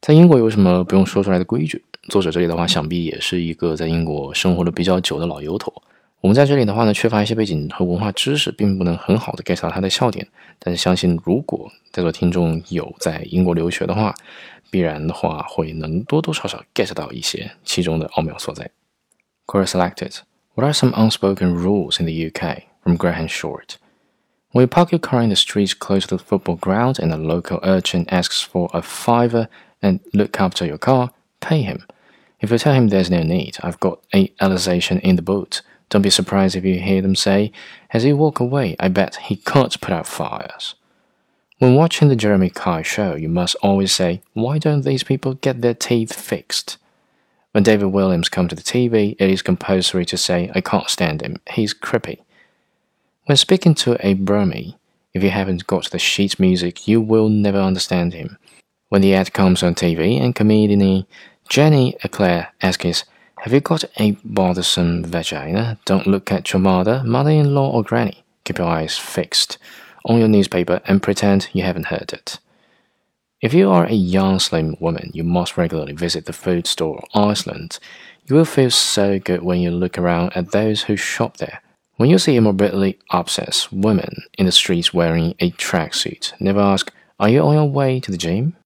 在英国有什么不用说出来的规矩？作者这里的话，想必也是一个在英国生活的比较久的老油头。我们在这里的话呢，缺乏一些背景和文化知识，并不能很好的 get 到他的笑点。但是相信，如果在座听众有在英国留学的话，必然的话会能多多少少 get 到一些其中的奥妙所在。Quora selected. What are some unspoken rules in the UK? From Graham Short. When you park your car in the street close to the football ground and a local urchin asks for a fiver and look after your car, pay him. If you tell him there's no need, I've got a Alsatian in the boot. Don't be surprised if you hear them say, as he walk away, I bet he can't put out fires. When watching the Jeremy Kyle show, you must always say, why don't these people get their teeth fixed? When David Williams comes to the TV, it is compulsory to say, I can't stand him, he's creepy. When speaking to a Burmese, if you haven't got the sheet music, you will never understand him. When the ad comes on TV and comedian Jenny Eclair asks, have you got a bothersome vagina? Don't look at your mother-in-law or granny. Keep your eyes fixed on your newspaper and pretend you haven't heard it. If you are a young slim woman, you must regularly visit the food store Iceland. You will feel so good when you look around at those who shop there. When you see a morbidly obsessed woman in the streets wearing a tracksuit, never ask, are you on your way to the gym?